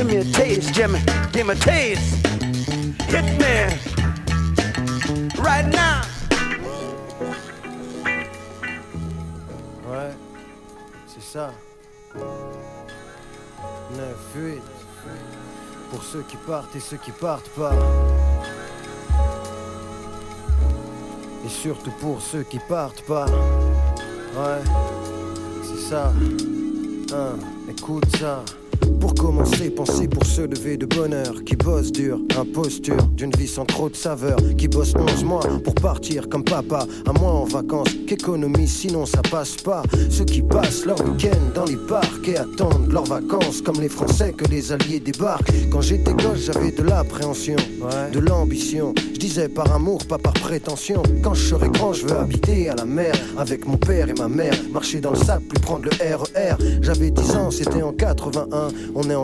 Give me a taste, Jimmy. Give me a taste. Hit me. Right now. Ouais, c'est ça. 9-8. Pour ceux qui partent et ceux qui partent pas. Et surtout pour ceux qui partent pas. Ouais, c'est ça. Écoute ça. Pour commencer, pensez pour se lever de bonheur. Qui bosse dur, imposture d'une vie sans trop de saveur. Qui bosse 11 mois pour partir comme papa. Un mois en vacances, qu'économise sinon ça passe pas. Ceux qui passent leur week-end dans les parcs et attendent leurs vacances. Comme les Français que les Alliés débarquent. Quand j'étais gosse j'avais de l'appréhension, de l'ambition. Je disais par amour, pas par prétention. Quand je serai grand je veux habiter à la mer. Avec mon père et ma mère. Marcher dans le sable, plus prendre le RER. J'avais 10 ans, c'était en 81. On est en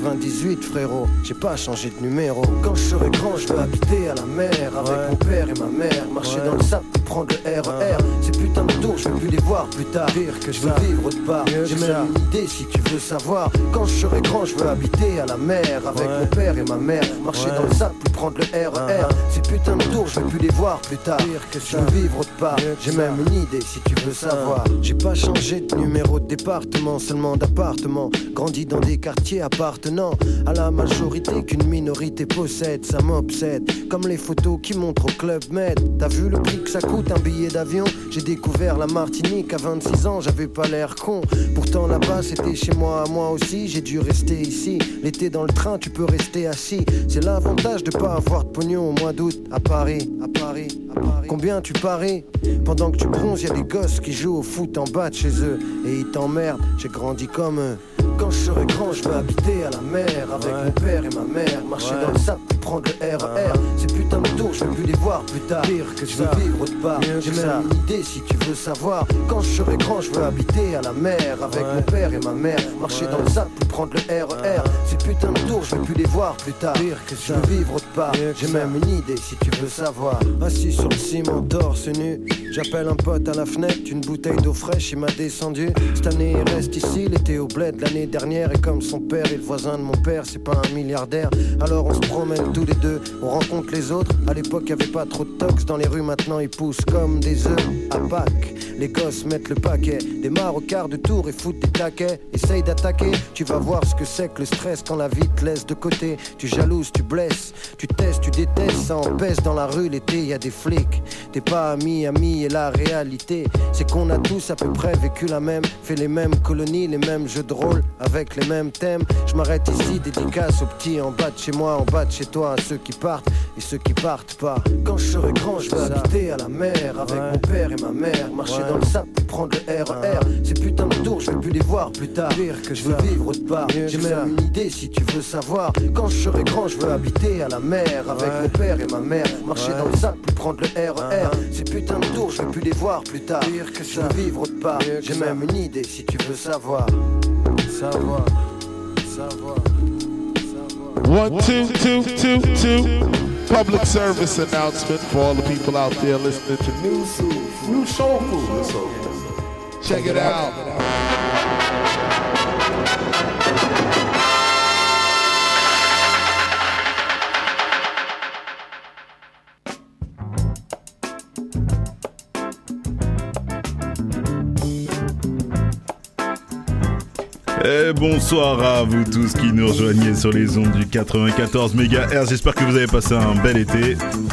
98 frérot, j'ai pas changé de numéro. Quand je serai grand je veux habiter à la mer. Avec mon père et ma mère. Marcher dans le sable, puis prendre le RER. Ces putains de tours, je veux plus les voir plus tard. Pire que je veux vivre autre part. J'ai même une idée si tu veux savoir. Quand je serai grand je veux habiter à la mer. Avec mon père et ma mère. Marcher dans le sable, puis prendre le RER. Ces putains de tours, je veux plus les voir plus tard. Pire que je veux vivre autre part. J'ai même une idée si tu veux savoir. J'ai pas changé de numéro de département, seulement d'appartement. Grandi dans des quartiers appartenant à la majorité qu'une minorité possède. Ça m'obsède, comme les photos qui montrent au Club Med. T'as vu le prix que ça coûte un billet d'avion? J'ai découvert la Martinique à 26 ans, j'avais pas l'air con. Pourtant là-bas c'était chez moi, moi aussi. J'ai dû rester ici, l'été dans le train tu peux rester assis. C'est l'avantage de pas avoir de pognon au mois d'août. À Paris, à Paris, à Paris. Combien tu paries? Pendant que tu bronzes y'a des gosses qui jouent au foot en bas de chez eux. Et ils t'emmerdent, j'ai grandi comme eux. Quand je serai grand, je veux habiter à la mer. Avec mon père et ma mère. Marcher dans le sable, puis prendre le RER. Ces putains de tours, je veux plus les voir plus tard. Pire que je veux vivre autre part. J'ai même une idée si tu veux savoir. Quand je serai grand, je veux habiter à la mer. Avec mon père et ma mère. Marcher dans le sable, puis prendre le RER. Ces putains de tours, je veux plus les voir plus tard. Pire que je veux vivre autre part. J'ai même une idée si tu veux savoir. Assis sur le ciment, torse nu. J'appelle un pote à la fenêtre. Une bouteille d'eau fraîche, il m'a descendu. Cette année, il reste ici. Il était au bled l'année dernière. Et comme son père et le voisin de mon père, c'est pas un milliardaire. Alors on se promène tous les deux, on rencontre les autres. À l'époque y'avait pas trop de tox dans les rues, maintenant ils poussent comme des œufs à Pâques. Les gosses mettent le paquet, démarrent au quart de tour et foutent des taquets. Essaye d'attaquer, tu vas voir ce que c'est que le stress quand la vie te laisse de côté. Tu jalouses, tu blesses, tu testes, tu détestes. Ça empêche dans la rue l'été, y a des flics. T'es pas ami et la réalité c'est qu'on a tous à peu près vécu la même, fait les mêmes colonies, les mêmes jeux de rôle avec les mêmes thèmes. Je m'arrête ici, dédicace aux petits en bas de chez moi, en bas de chez toi, à ceux qui partent et ceux qui partent pas. Quand je serai grand, je veux habiter à la mer. Avec mon père et ma mère. Marcher dans le sable, puis prendre le RER. Ces putains de tours, je veux plus les voir plus tard. Pire que je veux vivre autre part. J'ai même une idée si tu veux savoir. Quand je serai grand, je veux habiter à la mer. Avec mon père et ma mère. Marcher dans le sable, puis prendre le RER. Ces putains de tours, je veux plus les voir plus tard. Pire que je veux vivre autre part. J'ai même une idée si tu veux savoir. Savoir. 1, 2, 2, 2, 2. Public service announcement for all the people out there listening to New Soul Food. Check it out. Et bonsoir à vous tous qui nous rejoignez sur les ondes du 94 MHz. J'espère que vous avez passé un bel été.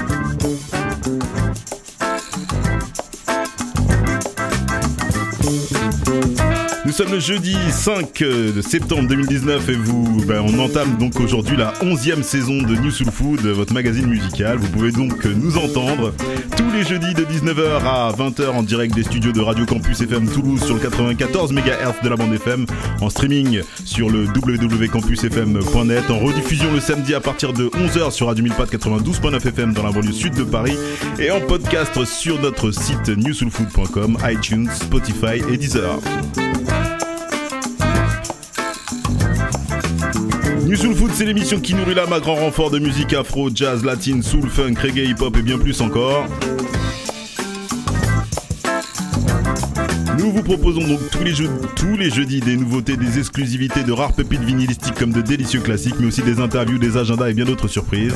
Nous sommes le jeudi 5 septembre 2019 et on entame donc aujourd'hui la 11e saison de New Soul Food, votre magazine musical. Vous pouvez donc nous entendre tous les jeudis de 19h à 20h en direct des studios de Radio Campus FM Toulouse sur le 94 MHz de la bande FM, en streaming sur le www.campusfm.net, en rediffusion le samedi à partir de 11h sur Radio Milpat 92.9 FM dans la banlieue sud de Paris et en podcast sur notre site newsoulfood.com, iTunes, Spotify et Deezer. New Soul Food, c'est l'émission qui nourrit l'âme à grand renfort de musique afro, jazz, latine, soul, funk, reggae, hip-hop et bien plus encore. Nous Nous vous proposons donc tous les jeudis des nouveautés, des exclusivités, de rares pépites vinylistiques comme de délicieux classiques, mais aussi des interviews, des agendas et bien d'autres surprises.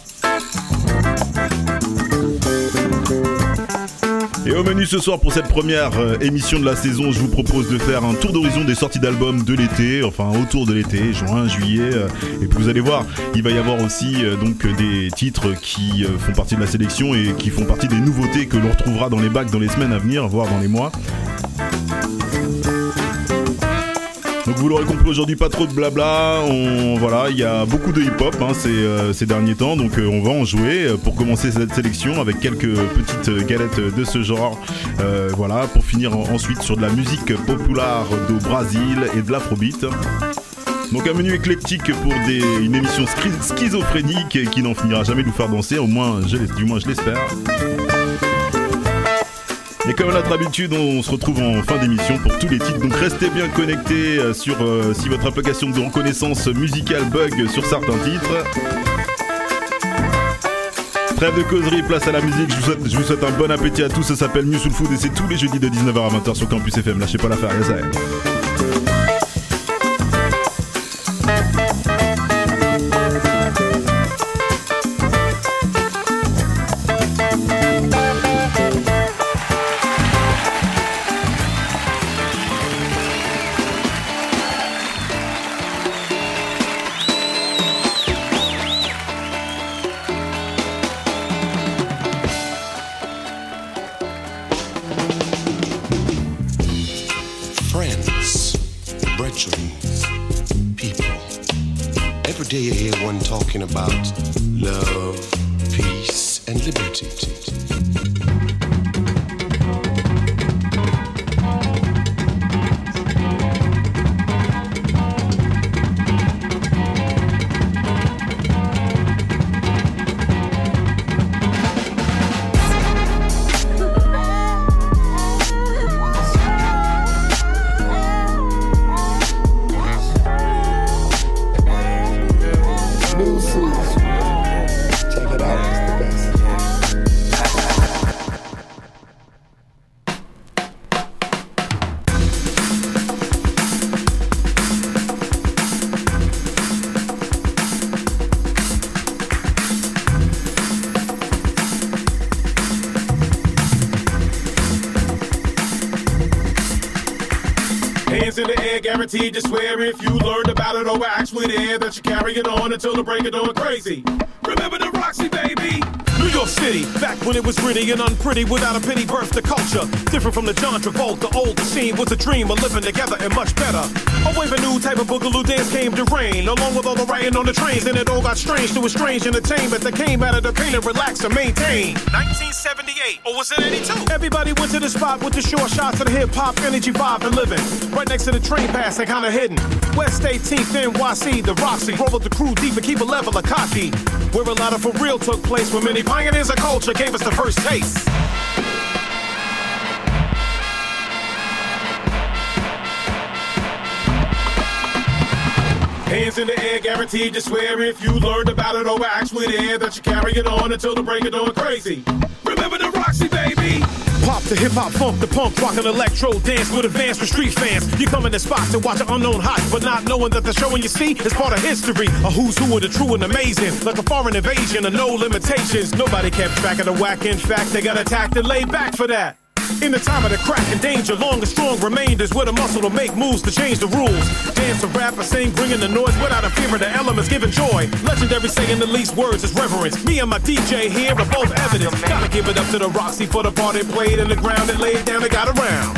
Et au menu ce soir pour cette première émission de la saison, je vous propose de faire un tour d'horizon des sorties d'albums de l'été, enfin autour de l'été, juin, juillet. Et puis vous allez voir, il va y avoir aussi donc des titres qui font partie de la sélection et qui font partie des nouveautés que l'on retrouvera dans les bacs dans les semaines à venir, voire dans les mois. Donc vous l'aurez compris aujourd'hui, pas trop de blabla, voilà, il y a beaucoup de hip-hop ces derniers temps, donc on va en jouer pour commencer cette sélection avec quelques petites galettes de ce genre, voilà, pour finir ensuite sur de la musique populaire du Brésil et de l'afrobeat. Donc un menu éclectique pour une émission schizophrénique qui n'en finira jamais de nous faire danser, du moins je l'espère. Et comme à notre habitude, on se retrouve en fin d'émission pour tous les titres. Donc restez bien connectés sur si votre application de reconnaissance musicale bug sur certains titres. Trêve de causerie, place à la musique. Je vous souhaite un bon appétit à tous. Ça s'appelle New Soul Food et c'est tous les jeudis de 19h à 20h sur Campus FM. Lâchez pas l'affaire, ça y est. About love, peace, and liberty. Check it out, it's the best. Hands in the air, guaranteed to swear if you learned about it or were actually there that you carry it on until the break of dawn crazy. Remember the Roxy, baby? New York City, back when it was gritty and unpretty without a pity birth to culture. Different from the John Travolta, old scene was a dream of living together and much better. A wave of new type of boogaloo dance came to reign, along with all the writing on the trains, and it all got strange to a strange entertainment that came out of the pain and relax and maintain. 1978, or was it 82? Everybody went to the spot with the short shots of the hip-hop energy vibe and living. Right next to the train pass and kinda hidden. West 18th, NYC, the Roxy, roll with the crew deep and keep a level of cocky. Where a lot of for real took place, where many pioneers of culture gave us the first taste. Hands in the air, guaranteed to swear if you learned about it or were actually there that you carry it on until the break of dawn crazy. Remember the Roxy, baby? Pop to hip-hop, funk to punk, rock and electro, dance with advance for street fans. You come in the spot to watch an unknown hot, but not knowing that the showing you see is part of history. A who's who of the true and amazing, like a foreign invasion of no limitations. Nobody kept track of the whack, in fact, they got attacked and laid back for that. In the time of the crack and danger, long and strong remainders with a muscle to make moves to change the rules. Dance or rap or sing, bringing the noise without a fear of the elements, giving joy. Legendary saying the least words is reverence. Me and my DJ here are both evidence. Gotta give it up to the Roxy for the part it played in the ground it laid down and got around.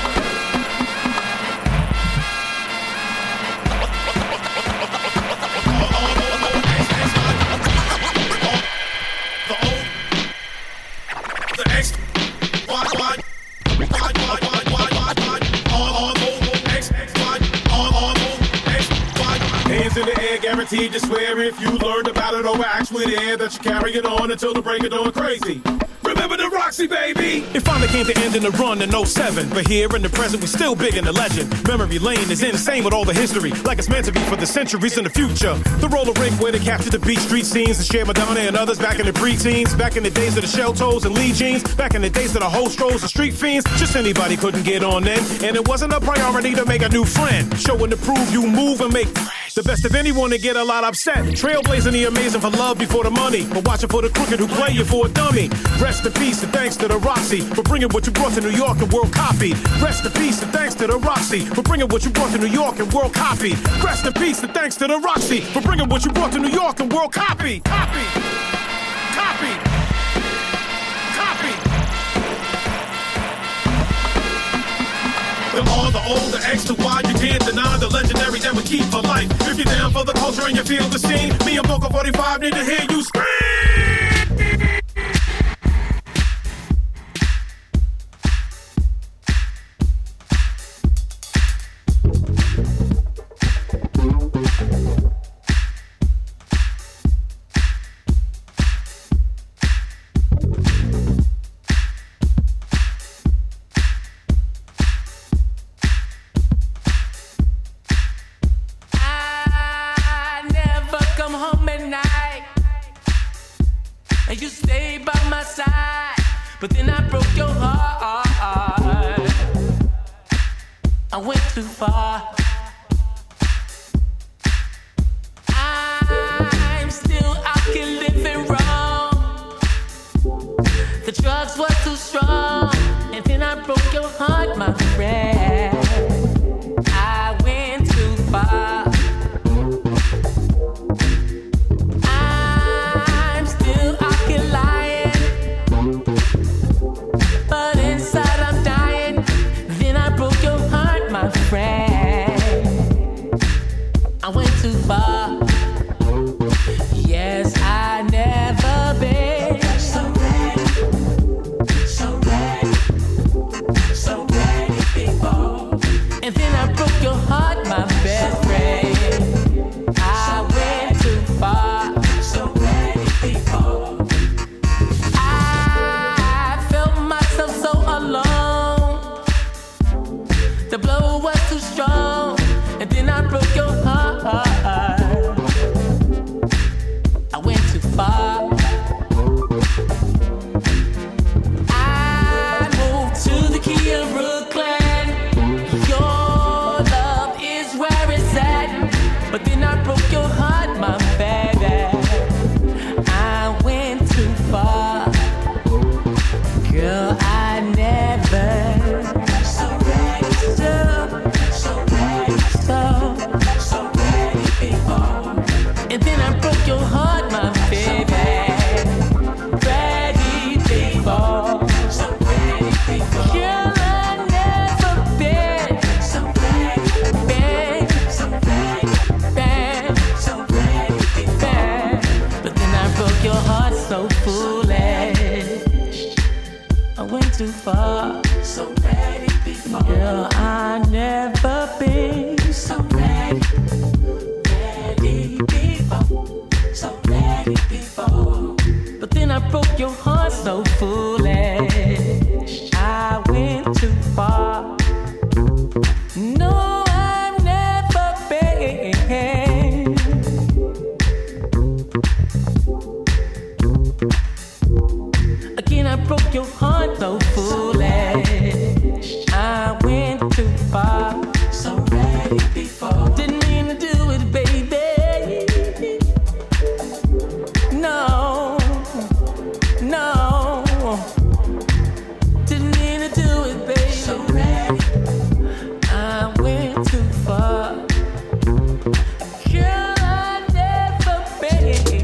Guaranteed to swear if you learned about it or were actually there that you carry it on until the break of dawn crazy. Remember Remember the Roxy, baby. It finally came to end in the run in 07. But here in the present, we still big in the legend. Memory lane is insane with all the history, like it's meant to be for the centuries in the future. The roller rink where they captured the beat street scenes and shared Madonna and others back in the preteens. Back in the days of the shell toes and Lee jeans. Back in the days of the whole strolls and street fiends. Just anybody couldn't get on then. And it wasn't a priority to make a new friend. Showing to prove you move and make the best of anyone to get a lot upset. Trailblazing the amazing for love before the money. But watching for the crooked who play you for a dummy. Rest in peace and thanks to the Roxy for bringing what you brought to New York and world copied. Rest in peace and thanks to the Roxy for bringing what you brought to New York and world copied. Rest in peace and thanks to the Roxy for bringing what you brought to New York and world copied. Copy. Copy. Copy. The R, the O, the X, the Y, you can't deny the legendary that we keep for life. If you're down for the culture and you feel the scene, me and Vocal 45 need to hear you scream. But then I broke your heart. I went too far. I'm still out here living wrong. The drugs were too strong. And then I broke your heart, my friend. I went too far. I'm still out here lying. But inside I'm dying. Then I broke your heart, my friend. I went too far. Yes, I never been so ready, so ready, so ready before. And then I broke your heart, my best friend. I went too far, so ready before. So alone, the blow was too strong, and then I broke your heart. I went too far. I moved to the key of Brooklyn. Your love is where it's at, but then I broke your heart, my baby. I went too far, girl. I never so ready, so ready before. And then I broke your heart, my baby. Ready before, so ready before. Girl, I never been so ready, been so ready, been so ready before. But then I broke your heart so foolish. I went too far, so ready before. Girl, I never been so ready, ready before, so ready before. But then I broke your heart so foolish. I went too far. No, I've never been. Again, I broke your heart so foolish. I went too far, so ready before. Didn't mean to do it, baby. No, no. Didn't mean to do it, baby. So ready. I went too far. Girl, I never been.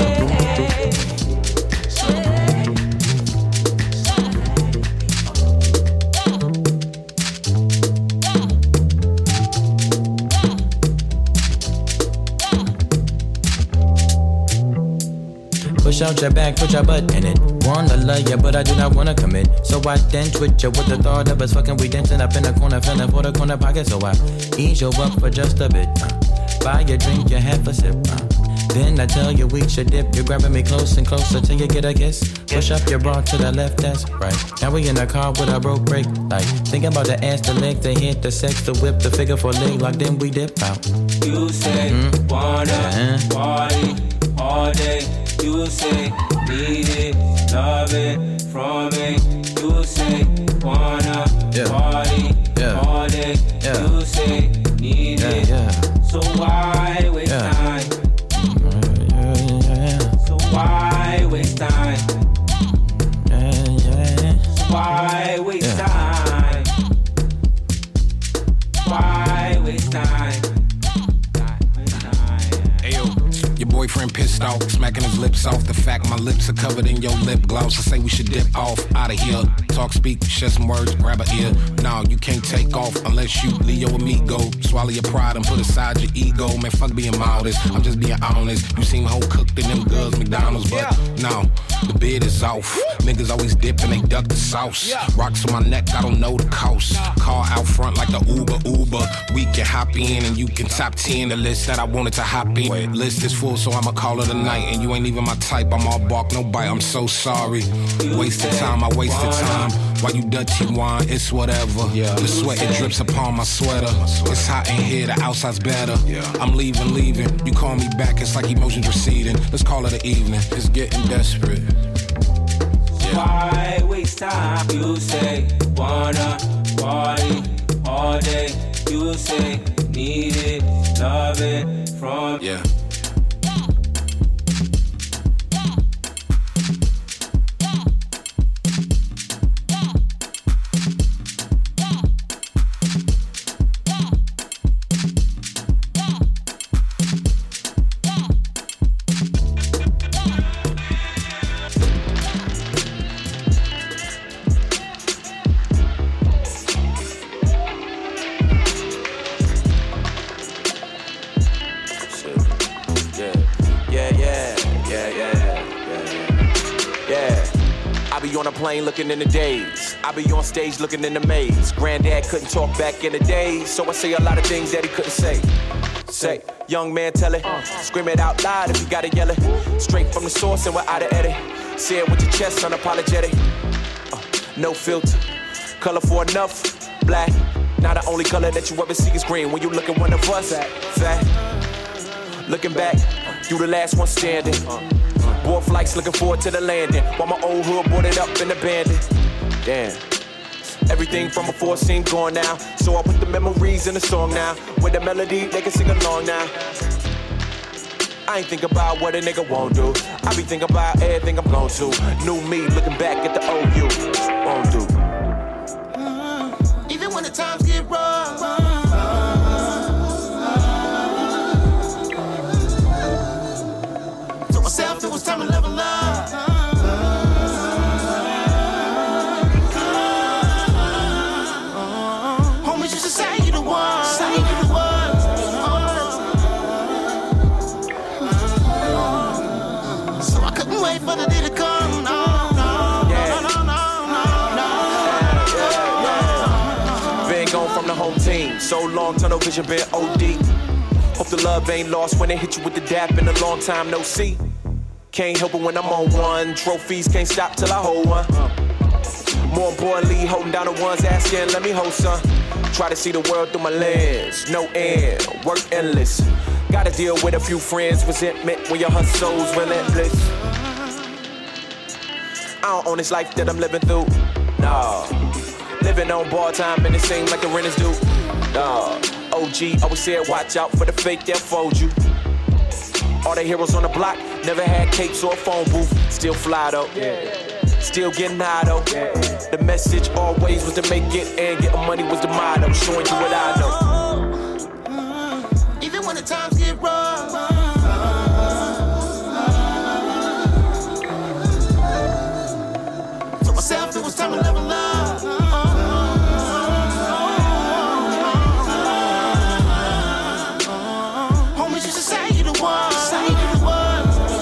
Push out your back, put your butt in it. Wanna love ya, but I do not wanna commit. So I dance with ya with the thought of us fucking. We dancing up in the corner, feeling for the corner pocket. So I ease you up for just a bit. Buy your drink, you have a sip. Then I tell you we should dip. You're grabbing me close and closer till you get a kiss. Push up your bra to the left, that's right. Now we in the car with a broke brake light. Thinking about the ass, the leg, the hint, the sex, the whip, the figure for leg lock. Then we dip out. You say wanna party all day. You say need it, love it from me. You say wanna party all day. You say need it. So why waste time? So why waste time? Why waste time? Why waste time? Your boyfriend pissed off, smacking his lips off. The fact my lips are covered in your lip gloss. I say we should dip off, out of here. Talk, speak, share some words, grab a ear. No, you can't take off unless you Leo amigo. Swallow your pride and put aside your ego. Man, fuck being modest, I'm just being honest. You seem whole cooked in them girls McDonald's, but no, the bid is off. Niggas always dip and they duck the sauce. Rocks on my neck, I don't know the cost. Car out front like the Uber. We can hop in and you can top 10 the list that I wanted to hop in. List is full, so I'ma call it a night. And you ain't even my type, I'm all bark, no bite. I'm so sorry. Wasted time, I wasted time. While you dirty wine, it's whatever. The sweat, it drips upon my sweater. It's hot in here, the outside's better. I'm leaving. You call me back, it's like emotions receding. Let's call it an evening, it's getting desperate. Why waste time? You say wanna party all day. You say need it, love it from on a plane looking in the days. I be on stage looking in the maze. Granddad couldn't talk back in the days, so I say a lot of things that he couldn't say. Say, young man, tell it. Scream it out loud if you gotta yell it. Straight from the source and we're out of edit. Say it with your chest, unapologetic. No filter, colorful enough, black. Now the only color that you ever see is green when you look at one of us. Fat, looking back, you the last one standing. Board flights looking forward to the landing. While my old hood boarded up and abandoned. Damn. Everything from before seemed gone now. So I put the memories in the song now. With the melody, they can sing along now. I ain't think about what a nigga won't do. I be thinking about everything I'm gon' do. New me looking back at the OU. Won't do. Even when the times get rough. Told myself it was time to level up. Homies used to say you the one. Say you the one. So I couldn't wait for the day to come. No. Been gone from the home team. So long, tunnel vision been OD. Hope the love ain't lost when they hit you with the dap in a long time no see. Can't help it when I'm on one. Trophies can't stop till I hold one. More importantly, holding down the ones asking, let me hold some. Try to see the world through my lens. No end, work endless. Gotta deal with a few friends, resentment when your hustle's relentless. I don't own this life that I'm living through. Nah, living on bar time and it seems like the rent is due. Nah, OG always said watch out for the fake that fold you. All the heroes on the block never had capes or a phone booth. Still fly though, still getting high though. The message always was to make it and getting money was the motto. Showing you what I know. Even when the times get rough. Told myself it was time to level up. Homies used to say you the one. Say you the one.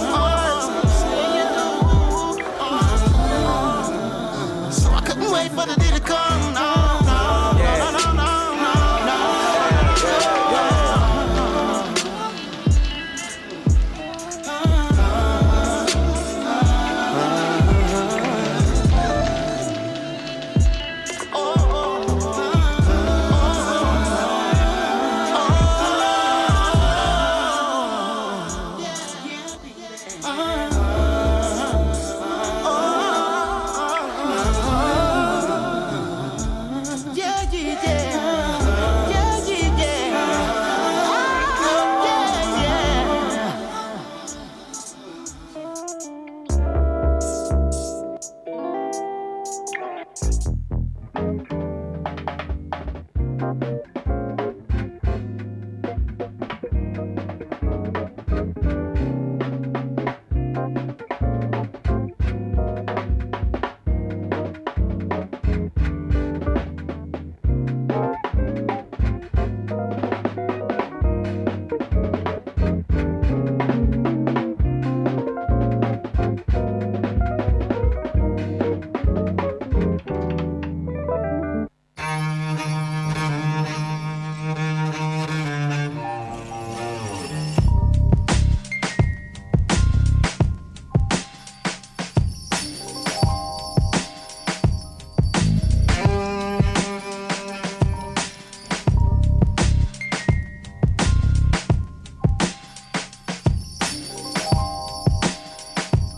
So I couldn't wait for the day to come. No.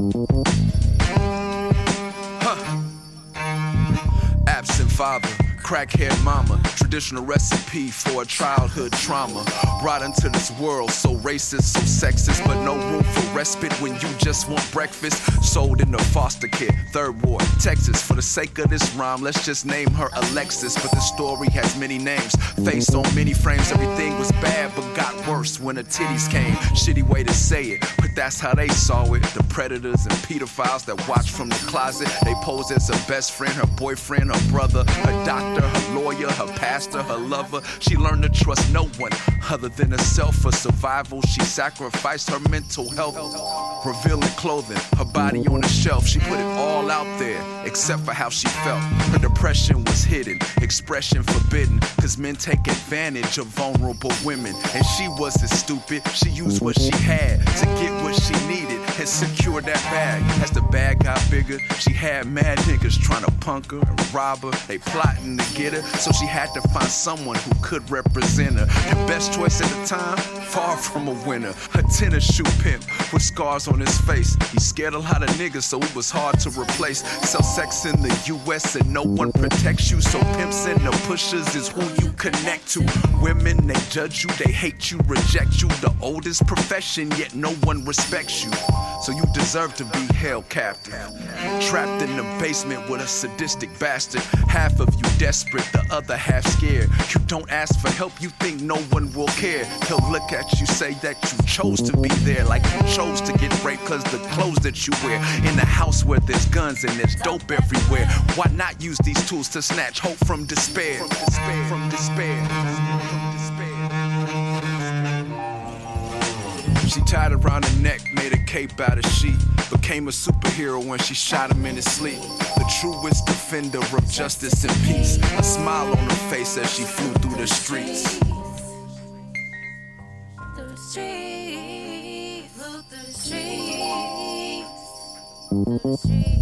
Absent father, crackhead mama, traditional recipe for a childhood trauma. Brought into this world so racist, so sexist, but no room for respite when you just want breakfast. Sold into foster care, Third Ward, Texas. For the sake of this rhyme, let's just name her Alexis. But the story has many names, faced on many frames. Everything was bad but got worse when her titties came. Shitty way to say it, but that's how they saw it. The predators and pedophiles that watch from the closet. They pose as her best friend, her boyfriend, her brother, her doctor, her lawyer, her pastor, her lover. She learned to trust no one other than herself. For survival, she sacrificed her mental health. Revealing clothing, her body on the shelf. She put it all out there, except for how she felt. Her depression was hidden, expression forbidden. Cause men take advantage of vulnerable women. And she wasn't stupid, she used what she had to get what she needed and secure that bag. As the bag got bigger, she had mad niggas trying to punk her and rob her. They plotting to get her, so she had to find someone who could represent her. Her best choice at the time, far from a winner. Her tennis shoe pimp with scars on his face. He scared a lot of niggas, so it was hard to replace. Sell sex in the US and no one protects you. So pimps and the pushers is who you connect to. Women, they judge you, they hate you, reject you. The oldest profession, yet no one respects you. So you deserve to be held captive. Trapped in the basement with a sadistic bastard. Half of you desperate, the other half scared. You don't ask for help, you think no one will care. He'll look at you, say that you chose to be there. Like you chose to get raped cause the clothes that you wear. In a house where there's guns and there's dope everywhere. Why not use these tools to snatch hope from despair? From despair. She tied around her neck, made a cape out of sheet. Became a superhero when she shot him in his sleep. The truest defender of justice and peace. A smile on her face as she flew through the streets. The streets, the streets, the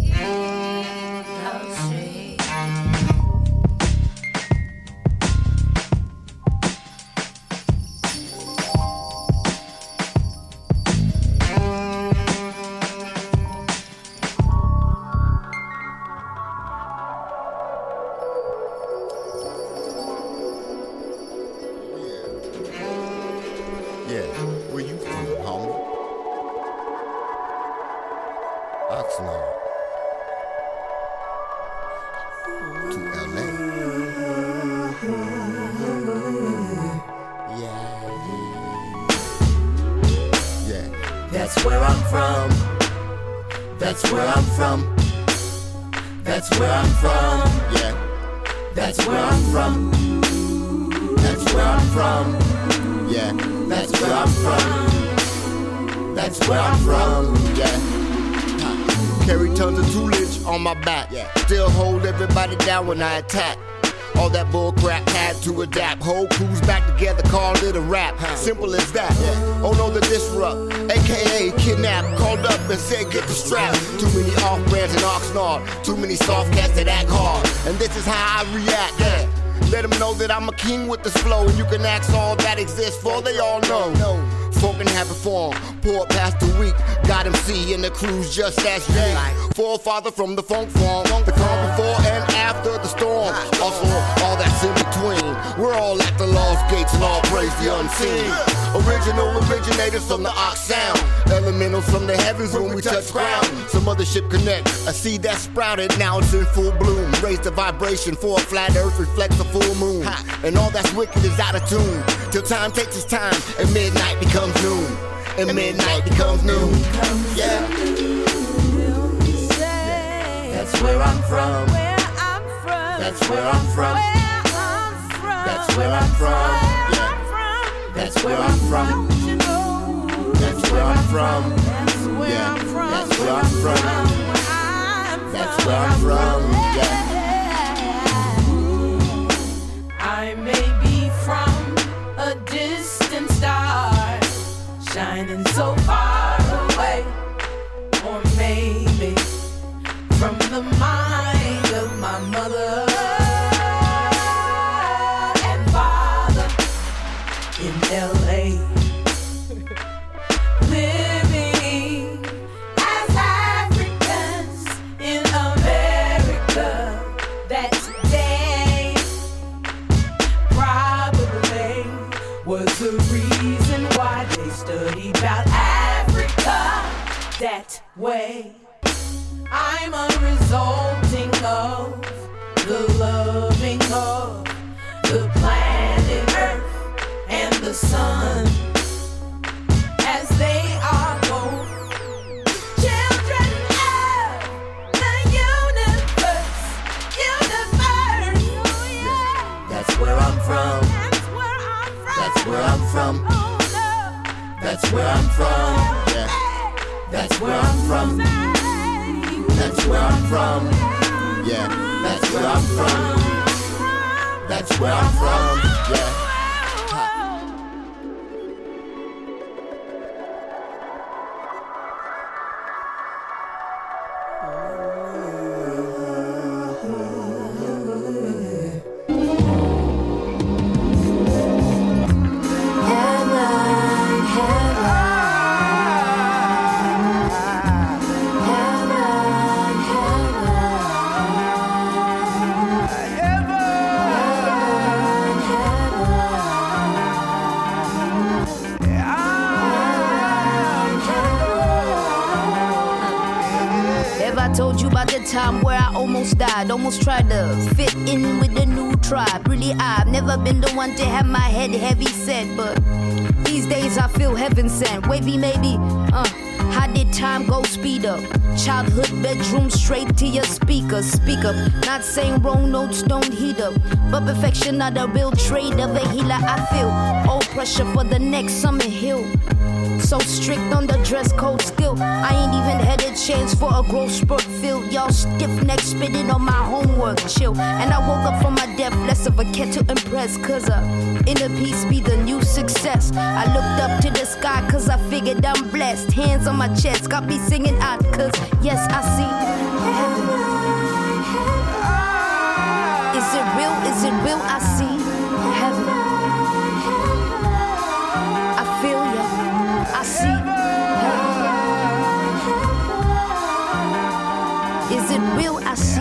streets. That's where I'm from. That's where I'm from. That's where I'm from. Yeah. That's where I'm from. That's where I'm from. Yeah. That's where I'm from. That's where I'm from. Yeah. Carry tons of toolage on my back. Yeah. Still hold everybody down when I attack. All that bull crap had to adapt. Whole crews back together, called it a rap. Simple as that. Oh no, the disrupt, aka kidnap. Called up and said get the strap. Too many off-brands and Oxnard. Too many soft cats that act hard. And this is how I react. Yeah. Let them know that I'm a king with this flow. And you can ask all that exists for, they all know. Folk in habit form, poor past the week. Got MC and the crew's just as you. Forefather from the funk form. The calm before and after the storm. Also, all that's in between. We're all at the lost gates and all praise the unseen. Original originators from the Ox sound. Elementals from the heavens when we touch ground. Some mothership connect, a seed that sprouted, now it's in full bloom. Raise the vibration for a flat earth, reflects the full moon. And all that's wicked is out of tune. Till time takes its time, and midnight becomes noon. And midnight becomes noon. Yeah. That's where I'm from. That's where I'm from. That's where I'm from. Yeah. That's where I'm from. That's where I'm from. Yeah. That's where I'm from. That's where I'm from. Yeah. I may be from a distant star, shining so far away, or maybe from the mind of my mother and father in LA, living as happy Read about Africa that way. I'm a resulting of the loving of the planet Earth and the sun, as they are both children of the universe. That's where I'm from. That's where I'm from. That's where I'm from. Yeah. That's where I'm from. That's where I'm from. Yeah. That's where I'm from. That's where I'm from. Yeah. Time where I almost died, almost tried to fit in with the new tribe. Really, I've never been the one to have my head heavy set, but these days I feel heaven sent. Wavy maybe, how did time go speed up? Childhood bedroom straight to your speakers. Speak up, not saying wrong notes don't heat up, but perfection not a real trade of a healer. I feel all pressure for the next Summit Hill. So strict on the dress code still. I ain't even had a chance for a growth spurt filled. Y'all stiff neck spitting on my homework, chill. And I woke up from my death, less of a cat to impress. Cause inner peace be the new success. I looked up to the sky cause I figured I'm blessed. Hands on my chest, got me singing out cause yes I see heaven. Is it real? Is it real? I see heaven. I feel ya. I see heaven. Is it real? I see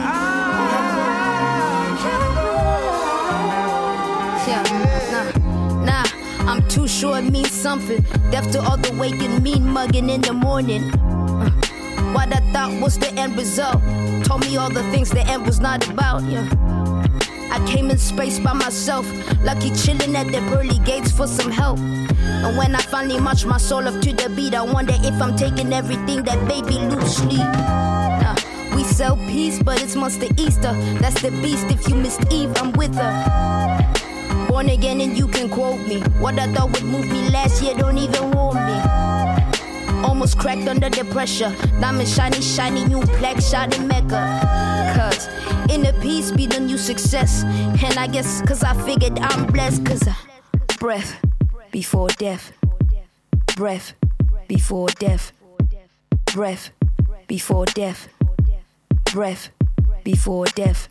heaven. Yeah, nah, I'm too sure it means something. Deaf to all the waking, mean mugging in the morning. What I thought was the end result told me all the things the end was not about. Yeah, I came in space by myself, lucky chilling at the pearly gates for some help. And when I finally march my soul up to the beat, I wonder if I'm taking everything that baby loosely. We sell peace, but it's Monster Easter. That's the beast. If you missed Eve, I'm with her. Born again and you can quote me. What I thought would move me last year don't even warm me. Almost cracked under the pressure. Diamond shiny, shiny, new plaque, shot in Mecca. Cause inner peace be the new success. And I guess cause I figured I'm blessed. Cause breath before death. Breath before death. Breath before death. Breath before death.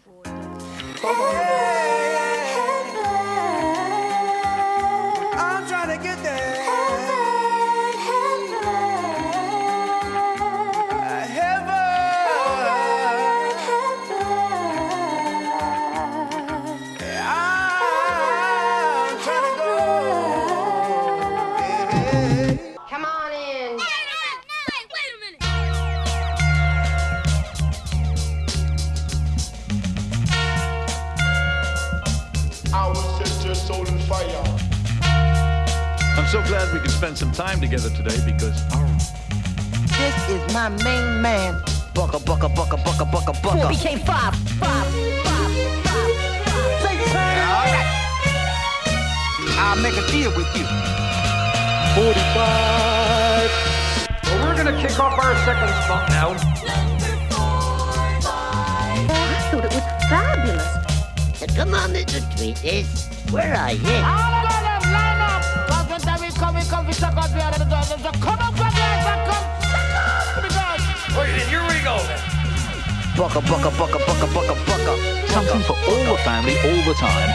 I'm trying to get there. I'm so glad we can spend some time together today because this is my main man. Bucka, bucka, bucka, bucka, bucka, bucka. 4 became 5. Say all right. I'll make a deal with you. 45. Well, we're gonna kick off our second spot now. I thought it was fabulous. So come on, Mr. Tweeters. Where are you? All of them line up. Come we suck out the other door. So come up from there and come suck up to the door. Wait, then here we go then. Bucka, bucka, bucka, bucka, bucka, bucka. Something for all the family, all the time.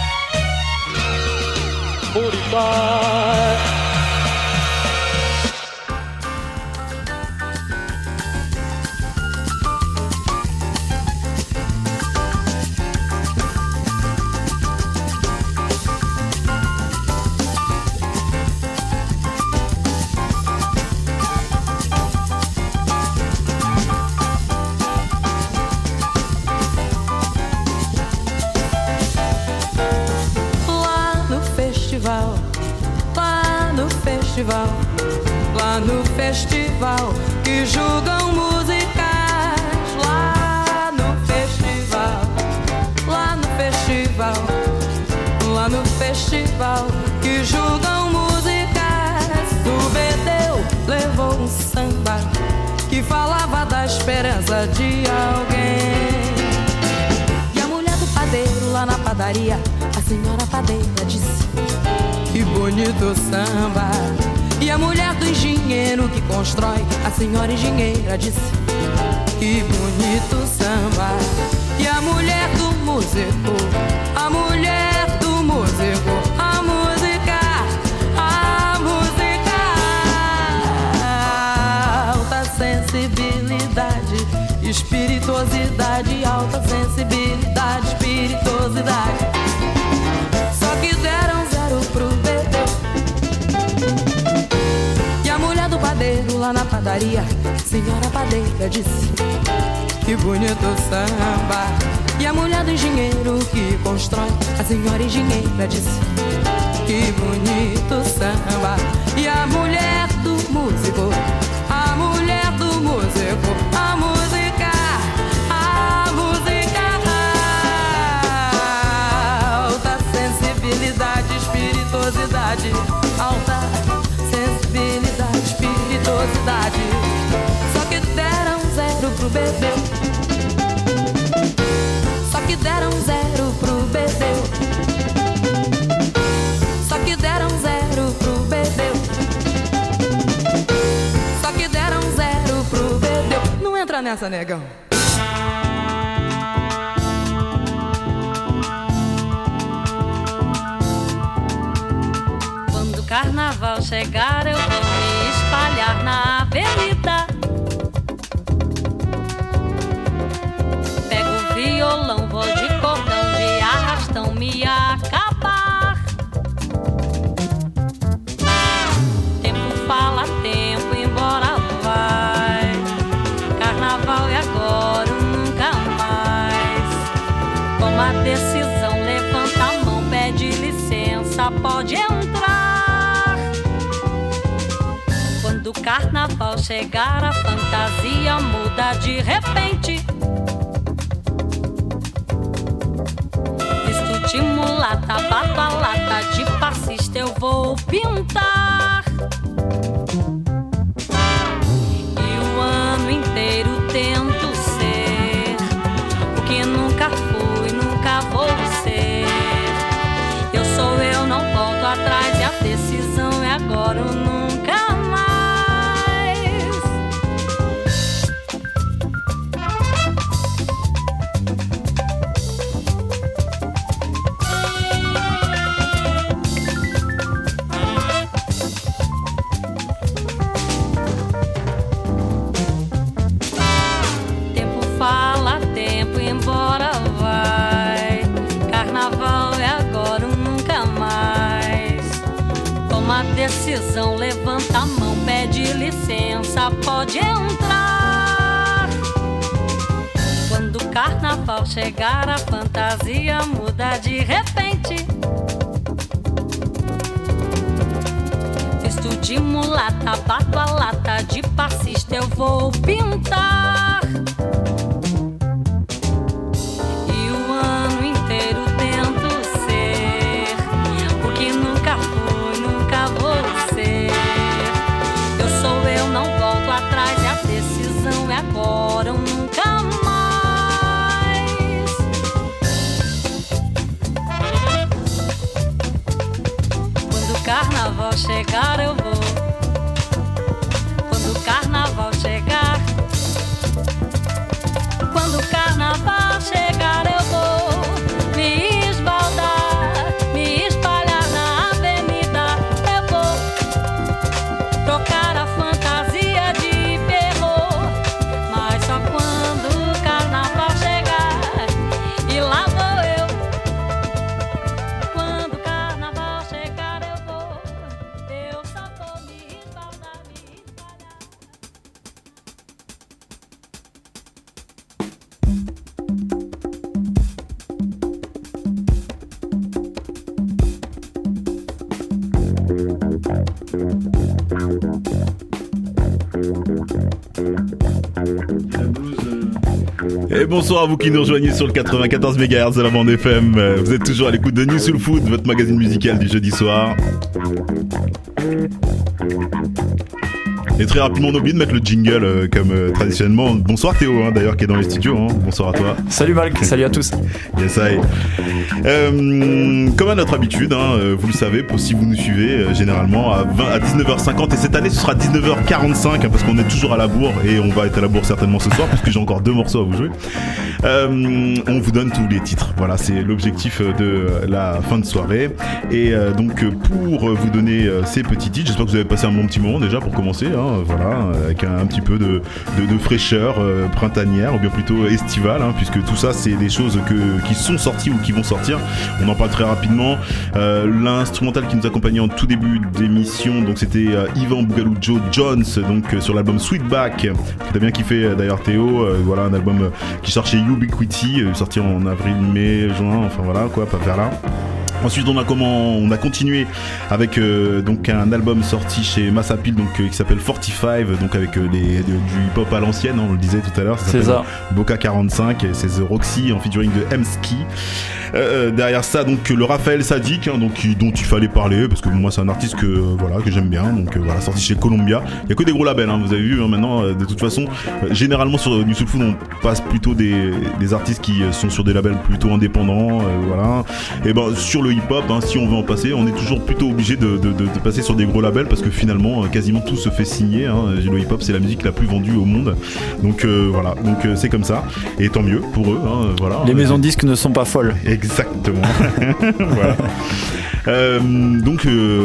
45. lá no festival que julgam musicais. Lá no festival, lá no festival, lá no festival que julgam musicais. O Bedeu levou um samba que falava da esperança de alguém. E a mulher do padeiro lá na padaria, a senhora padeira disse: que bonito samba. E a mulher do engenheiro que constrói, a senhora engenheira disse: que bonito samba. E a mulher do músico, a mulher do músico, a música, alta sensibilidade, espirituosidade, alta sensibilidade, espirituosidade. Só que deram zero pro Bedeu. E a mulher do padeiro lá na padaria, senhora padeira disse: que bonito samba. E a mulher do engenheiro que constrói, a senhora engenheira disse: que bonito samba. E a mulher do músico, a mulher do músico, a música, alta sensibilidade, espirituosidade, alta sensibilidade, espirituosidade. Só que deram zero pro Bedeu. Só que deram zero pro Bedeu. Só que deram zero pro Bedeu. Só que deram zero pro Bedeu. Não entra nessa, negão. Quando o carnaval chegar, eu vou me espalhar na avenida. Pego o violão, vou de cordão, de arrastão me acabar. Tempo fala, tempo embora vai. Carnaval é agora ou nunca mais. Toma a decisão, levanta a mão, pede licença, pode entrar. Quando o carnaval chegar, a fantasia muda de repente. Visto de mulata, bato a lata, de passista eu vou pintar. E o ano inteiro tento ser o que nunca fui, nunca vou ser. Eu sou eu, não volto atrás, e a decisão é agora ou nunca mais. Tempo fala, tempo embora vai. Carnaval é agora ou nunca mais. Toma a decisão, levanta a mão, pede licença, pode entrar. Quando o carnaval chegar, a fantasia muda de repente. Visto de mulata, bato a lata, de passista eu vou pintar. E o ano inteiro tento ser o que nunca fui, nunca vou ser. Eu sou eu, não volto atrás, e a decisão é agora ou nunca mais. Quando o carnaval chegar, eu vou. Quando o carnaval chegar, Et bonsoir à vous qui nous rejoignez sur le 94 MHz de la bande FM. Vous êtes toujours à l'écoute de New Soul Food, votre magazine musical du jeudi soir. Et très rapidement, on oublie de mettre le jingle comme traditionnellement. Bonsoir Théo, d'ailleurs, qui est dans les studios. Bonsoir à toi. Salut Malk, salut à tous. Yes, I. Comme à notre habitude, vous le savez, si vous nous suivez, généralement à 19h50. Et cette année, ce sera 19h45, parce qu'on est toujours à la bourre. Et on va être à la bourre certainement ce soir, puisque j'ai encore 2 morceaux à vous jouer. On vous donne tous les titres. Voilà, c'est l'objectif de la fin de soirée. Et donc, pour vous donner ces petits titres, j'espère que vous avez passé un bon petit moment déjà pour commencer. Voilà, avec un petit peu de fraîcheur printanière, ou bien plutôt estivale, puisque tout ça c'est des choses qui sont sorties ou qui vont sortir. On en parle très rapidement. L'instrumental qui nous accompagnait en tout début d'émission, donc c'était Ivan Bougalou Joe Jones, donc sur l'album Sweetback, que t'as bien kiffé d'ailleurs Théo. Voilà, un album qui sort chez Ubiquity, sorti en avril, mai, juin, enfin voilà quoi, pas vers là. Ensuite on a continué avec donc un album sorti chez Mass Appeal, donc qui s'appelle 45, donc avec du hip-hop à l'ancienne, on le disait tout à l'heure, ça s'appelle Boca 45, et c'est The Roxy en featuring de M-Ski. Derrière ça, donc le Raphaël Sadik, dont il fallait parler, parce que moi c'est un artiste que j'aime bien, donc voilà, sorti chez Columbia. Il y a que des gros labels, vous avez vu maintenant, de toute façon généralement sur New Soul Food on passe plutôt des artistes qui sont sur des labels plutôt indépendants, voilà. Et ben sur le hip-hop, si on veut en passer, on est toujours plutôt obligé de passer sur des gros labels, parce que finalement quasiment tout se fait signer, le hip-hop c'est la musique la plus vendue au monde, donc voilà, donc c'est comme ça, et tant mieux pour eux, voilà. Les maisons de disques ne sont pas folles. Exactement. Voilà. Donc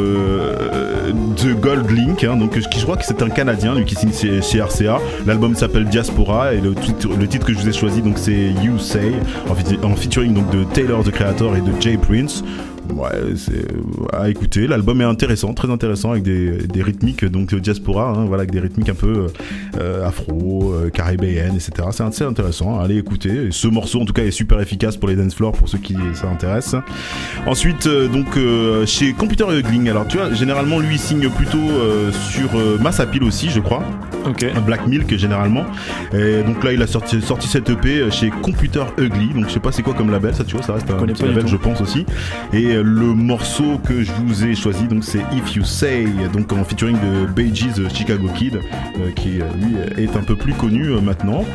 The Gold Link, donc je crois que c'est un Canadien, lui qui signe chez RCA. L'album s'appelle Diaspora, et le titre que je vous ai choisi, donc c'est You Say, en featuring donc de Taylor the Creator et de Jay Prince. Ouais, c'est à écouter. L'album est intéressant, très intéressant, avec des rythmiques, donc Diaspora, voilà, avec des rythmiques un peu afro, caribéennes, etc. C'est assez intéressant, allez écouter. Et ce morceau en tout cas est super efficace pour les dance floors, pour ceux qui ça intéresse. Ensuite donc chez Computer Ugly, alors tu vois, généralement lui il signe plutôt sur Mass Appeal aussi, je crois. Ok. Black Milk généralement. Et donc là il a sorti cette EP chez Computer Ugly, donc je sais pas c'est quoi comme label, ça tu vois, ça reste un petit label je pense aussi. Et le morceau que je vous ai choisi, donc c'est If You Say, donc en featuring de Bee Gees Chicago Kid, qui lui est un peu plus connu maintenant.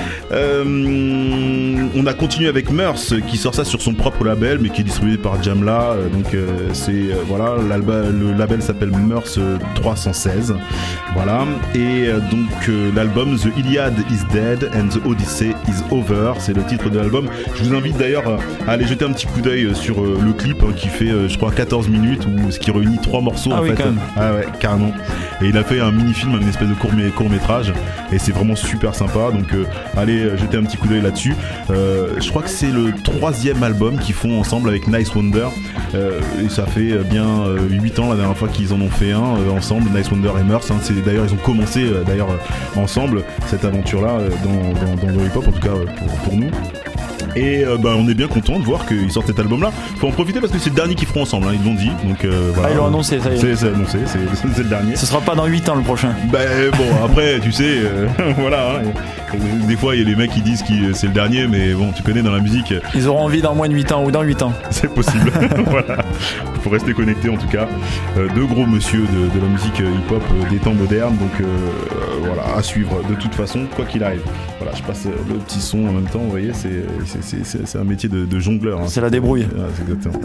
On a continué avec Murs, qui sort ça sur son propre label, mais qui est distribué par Jamla, donc c'est voilà, le label s'appelle Murs 316, voilà. Et donc l'album The Iliad is Dead and the Odyssey is Over, c'est le titre de l'album. Je vous invite d'ailleurs à aller jeter un petit coup d'œil sur le clip, qui fait je crois 14 minutes, ce qui réunit 3 morceaux en fait. Ah ouais, carrément. Et il a fait un mini-film, une espèce de court-métrage, et c'est vraiment super sympa, donc allez jeter un petit coup d'œil là-dessus. Je crois que c'est le 3e album qu'ils font ensemble avec Nice Wonder, et ça fait bien 8 ans la dernière fois qu'ils en ont fait un ensemble, Nice Wonder et Murs, c'est d'ailleurs ils ont commencé ensemble cette aventure-là dans le hip-hop, en tout cas pour nous. Et on est bien content de voir qu'ils sortent cet album là. Faut en profiter parce que c'est le dernier qu'ils feront ensemble, ils l'ont dit, donc voilà. Ah, ils l'ont annoncé, ça y est. C'est annoncé, c'est le dernier. Ce sera pas dans 8 ans le prochain. Bon après tu sais voilà, des fois il y a les mecs qui disent que c'est le dernier, mais bon tu connais dans la musique, ils auront envie dans moins de 8 ans ou dans 8 ans. C'est possible. Voilà, faut rester connecté en tout cas. Deux gros monsieur de la musique hip-hop des temps modernes, donc voilà, à suivre de toute façon quoi qu'il arrive. Voilà, je passe le petit son en même temps, vous voyez, c'est un métier de jongleur, c'est la débrouille. C'est exactement.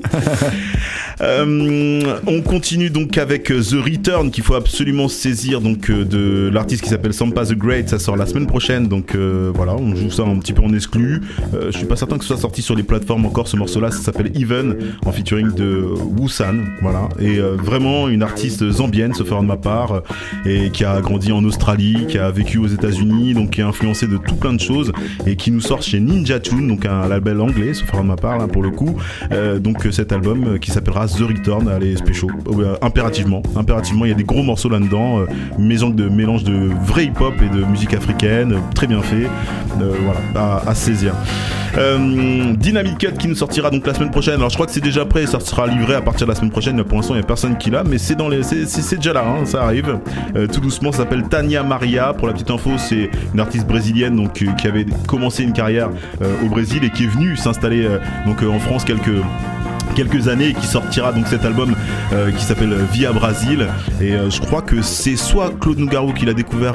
On continue donc avec The Return, qu'il faut absolument saisir, donc de l'artiste qui s'appelle Sampa the Great. Ça sort la semaine prochaine, donc voilà, on joue ça un petit peu en exclu. Je suis pas certain que ce soit sorti sur les plateformes encore, ce morceau là, ça s'appelle Even, en featuring de Wusan, voilà. Et vraiment une artiste zambienne, sauf erreur de ma part, et qui a grandi en Australie, qui a vécu aux États-Unis, donc qui est influencée de tout plein de choses, et qui nous sort chez Ninja Tune, donc un label anglais, sauf erreur de ma part là, pour le coup. Donc cet album qui s'appellera The Return, allez spéciaux, impérativement, il y a des gros morceaux là-dedans, mélange de vrai hip-hop et de musique africaine, très bien fait, voilà, à saisir. Dynamite Cut qui nous sortira donc la semaine prochaine. Alors je crois que c'est déjà prêt, ça sera livré à partir de la semaine prochaine. Pour l'instant il n'y a personne qui l'a, mais c'est déjà là, hein, ça arrive tout doucement. Ça s'appelle Tania Maria. Pour la petite info, c'est une artiste brésilienne donc qui avait commencé une carrière au Brésil et qui est venue s'installer donc en France quelques années et qui sortira donc cet album qui s'appelle Via Brasil. Et je crois que c'est soit Claude Nougaro qui l'a découvert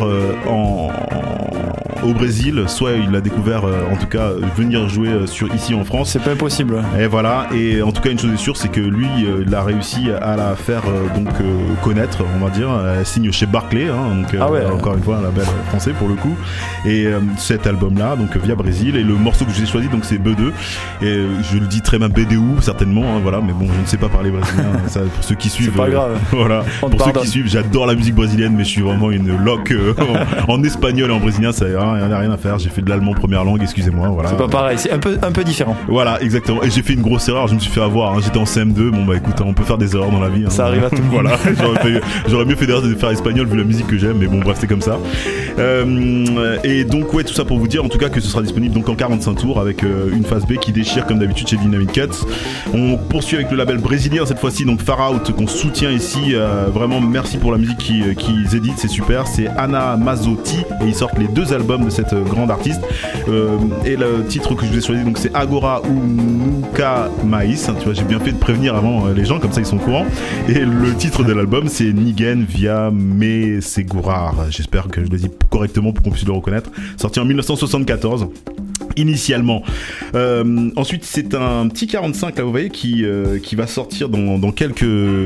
au Brésil, soit il l'a découvert en tout cas venir jouer ici en France. C'est pas impossible. Et voilà, et en tout cas une chose est sûre, c'est que lui il a réussi à la faire connaître, on va dire. Elle signe chez Barclay, hein, donc encore une fois un label français pour le coup. Et cet album là donc Via Brasil, et le morceau que j'ai choisi donc c'est B2, et je le dis très bien BDU certainement, hein, voilà, mais bon je ne sais pas parler brésilien, ça, pour ceux qui suivent c'est pas grave. Voilà, pour ceux qui suivent, j'adore la musique brésilienne, mais je suis vraiment une loque en espagnol et en brésilien, ça n'a rien à faire. J'ai fait de l'allemand première langue, excusez-moi, voilà. C'est pas pareil, c'est un peu différent. Voilà, exactement. Et j'ai fait une grosse erreur, je me suis fait avoir, hein. J'étais en CM2, bon bah écoute, on peut faire des erreurs dans la vie, hein. Ça arrive à tout le monde. Voilà, j'aurais mieux fait d'erreur de faire espagnol vu la musique que j'aime, mais bon bref, c'est comme ça. Et donc ouais, tout ça pour vous dire en tout cas que ce sera disponible donc en 45 tours avec une phase B qui déchire comme d'habitude chez Dynamite Cuts. On poursuit avec le label brésilien cette fois-ci, donc Far Out, qu'on soutient ici, vraiment merci pour la musique qu'ils éditent, c'est super. C'est Ana Mazzotti et ils sortent les 2 albums de cette grande artiste, et le titre que je vous ai choisi donc c'est Agora ou Nunca Mais, tu vois, j'ai bien fait de prévenir avant les gens, comme ça ils sont au courant. Et le titre de l'album c'est Niguen Via Me Segurar, j'espère que je le dis correctement pour qu'on puisse le reconnaître, sorti en 1974 initialement. Ensuite c'est un petit 45 là, vous voyez, qui va sortir dans quelques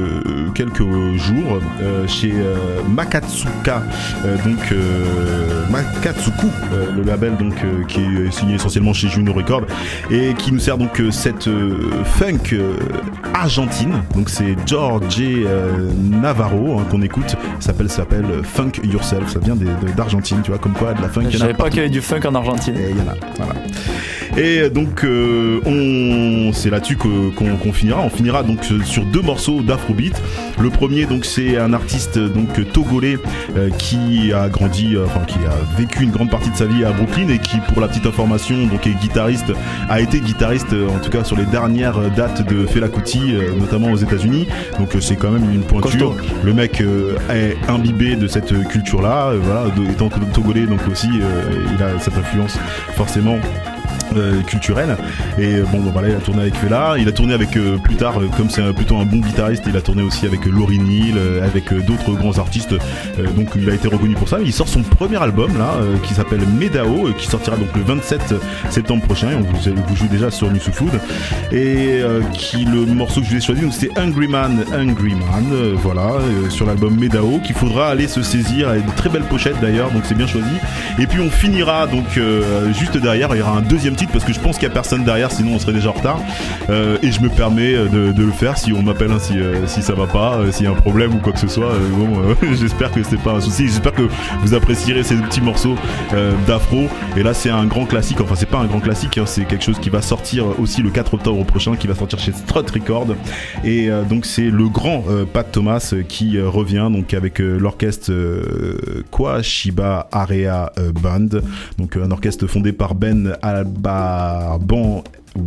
jours chez Makatsuka, donc Makatsuku, le label donc qui est signé essentiellement chez Juno Records et qui nous sert donc cette funk argentine. Donc c'est Jorge Navarro, hein, qu'on écoute, ça s'appelle Funk Yourself, ça vient d'Argentine, tu vois, comme quoi de la funk. Je savais pas qu'il y avait du funk en Argentine. Et il y en a, voilà. Et donc c'est là-dessus qu'on finira. On finira donc sur 2 morceaux d'Afrobeat. Le premier donc c'est un artiste donc togolais qui a grandi, qui a vécu une grande partie de sa vie à Brooklyn et qui, pour la petite information, donc a été guitariste en tout cas sur les dernières dates de Fela Kuti, notamment aux États-Unis. Donc c'est quand même une pointure. Le mec est imbibé de cette culture-là, voilà, étant togolais donc aussi il a cette influence forcément culturelle. Et bon voilà, il a tourné avec Fela, il a tourné avec plus tard, comme c'est plutôt un bon guitariste, il a tourné aussi avec Lauryn Hill, avec d'autres grands artistes, donc il a été reconnu pour ça. Il sort son premier album là qui s'appelle Medao, qui sortira donc le 27 septembre prochain, et on vous joue déjà sur New Soul Food. Et le morceau que je vous ai choisi donc c'est Hungry Man, voilà, sur l'album Medao, qu'il faudra aller se saisir, avec de très belles pochettes d'ailleurs, donc c'est bien choisi. Et puis on finira donc juste derrière, il y aura un deuxième titre parce que je pense qu'il n'y a personne derrière, sinon on serait déjà en retard, et je me permets de le faire si on m'appelle, hein, si ça va pas, s'il y a un problème ou quoi que ce soit. J'espère que c'est pas un souci, j'espère que vous apprécierez ces petits morceaux d'afro. Et là c'est un grand classique, enfin c'est pas un grand classique, hein, c'est quelque chose qui va sortir aussi le 4 octobre prochain, qui va sortir chez Strut Records. Et donc c'est le grand Pat Thomas qui revient donc avec l'orchestre Kwashiba Area Band, donc un orchestre fondé par Ben Abarbanel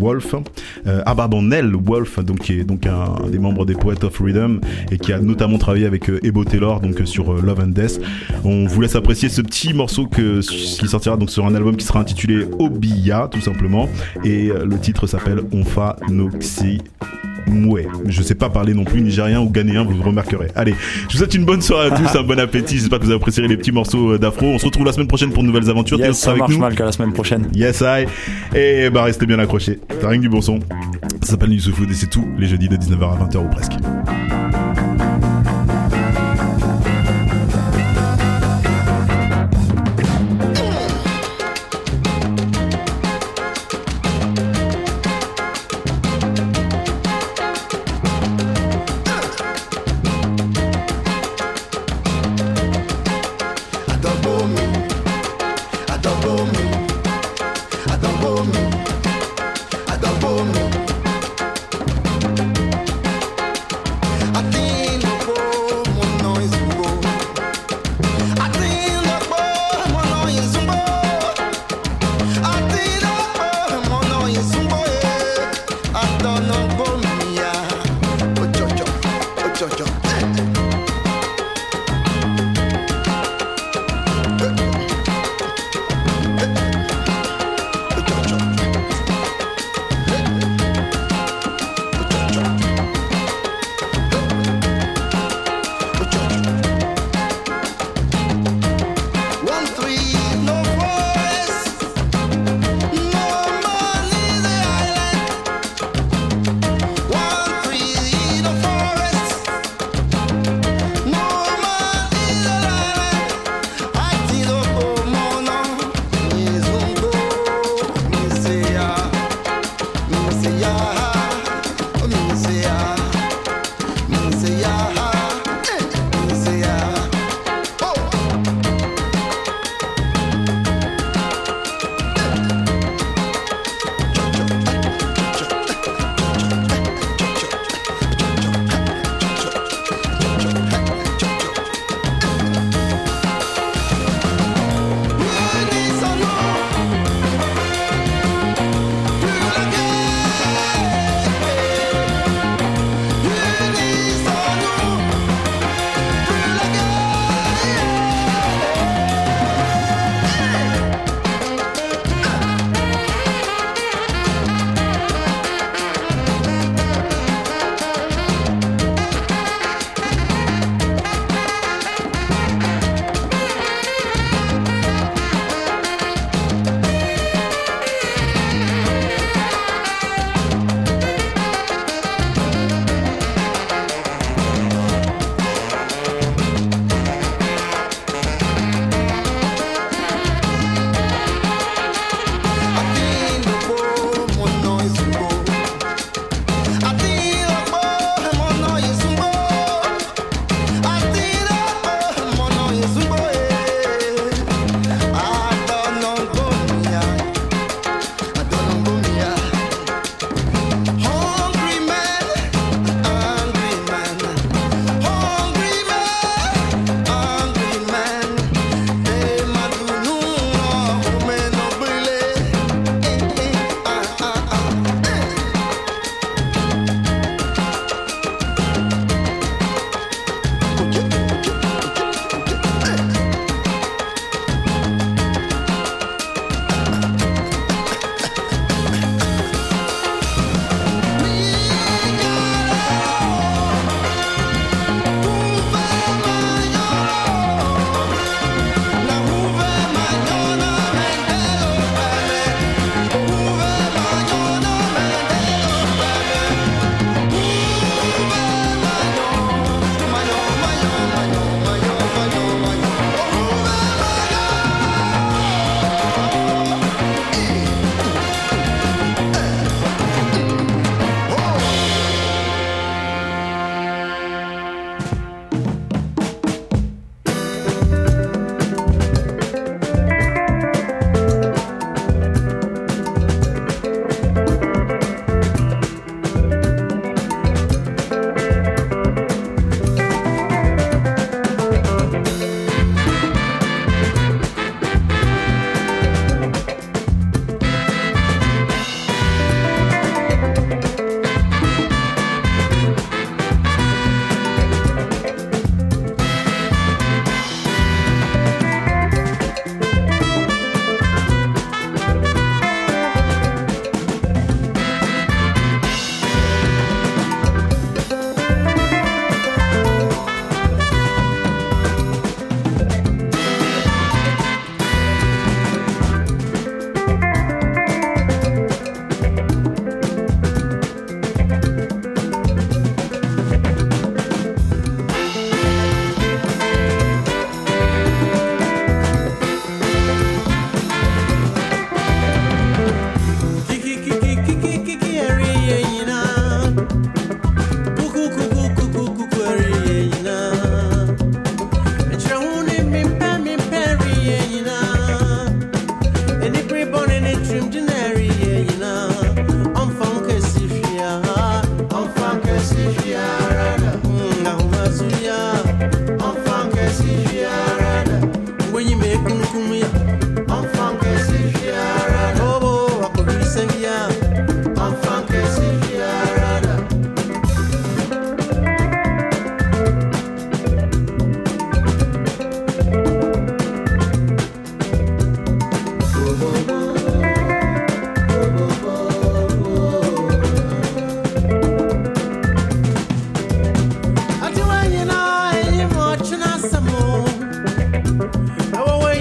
Wolf, donc qui est donc un des membres des Poets of Rhythm et qui a notamment travaillé avec Ebo Taylor donc sur Love and Death. On vous laisse apprécier ce petit morceau qui sortira donc sur un album qui sera intitulé Obia tout simplement, et le titre s'appelle Onfa Noxi Moué. Je sais pas parler non plus nigérien ou ghanéen, vous le remarquerez. Allez, je vous souhaite une bonne soirée à tous, un bon appétit, j'espère que vous apprécierez les petits morceaux d'afro. On se retrouve la semaine prochaine pour de nouvelles aventures. Yes, ça marche mal qu'à la semaine prochaine. Yes, I. Et bah restez bien accrochés, t'as rien que du bon son. Ça s'appelle New Soul Food et c'est tout les jeudis de 19h à 20h ou presque.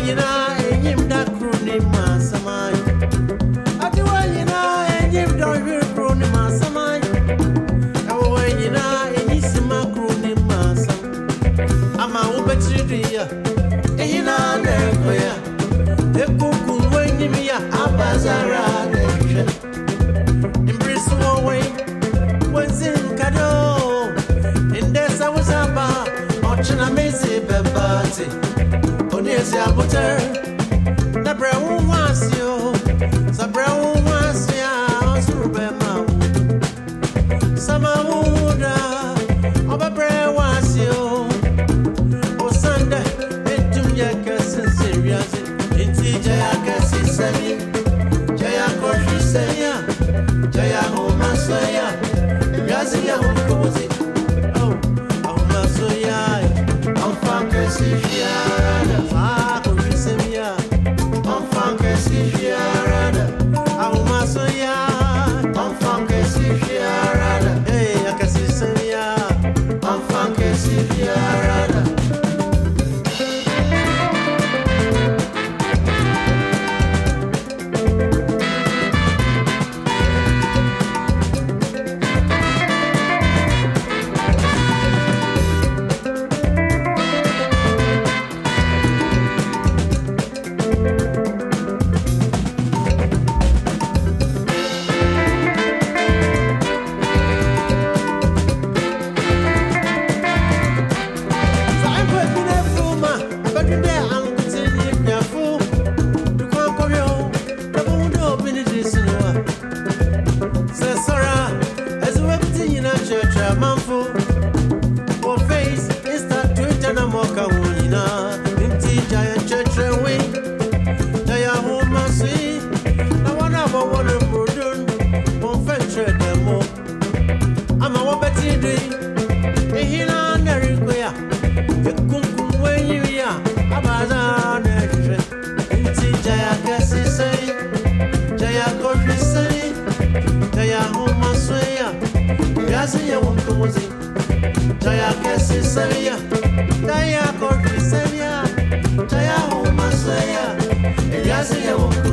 Jaya kesi seria, Jaya korki seria, Jaya huma seria, Eliasi ya